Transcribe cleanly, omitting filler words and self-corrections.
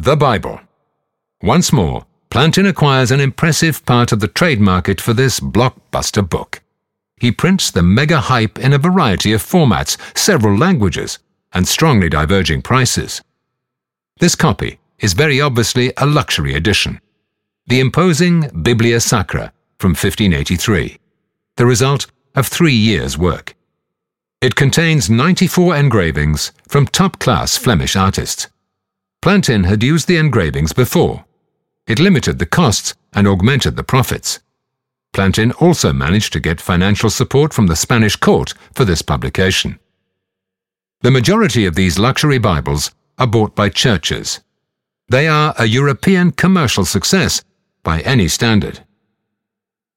The Bible. Once more, Plantin acquires an impressive part of the trade market for this blockbuster book. He prints the mega hype in a variety of formats, several languages, and strongly diverging prices. This copy is very obviously a luxury edition. The imposing Biblia Sacra from 1583, the result of 3 years' work. It contains 94 engravings from top-class Flemish artists. Plantin had used the engravings before. It limited the costs and augmented the profits. Plantin also managed to get financial support from the Spanish court for this publication. The majority of these luxury Bibles are bought by churches. They are a European commercial success by any standard.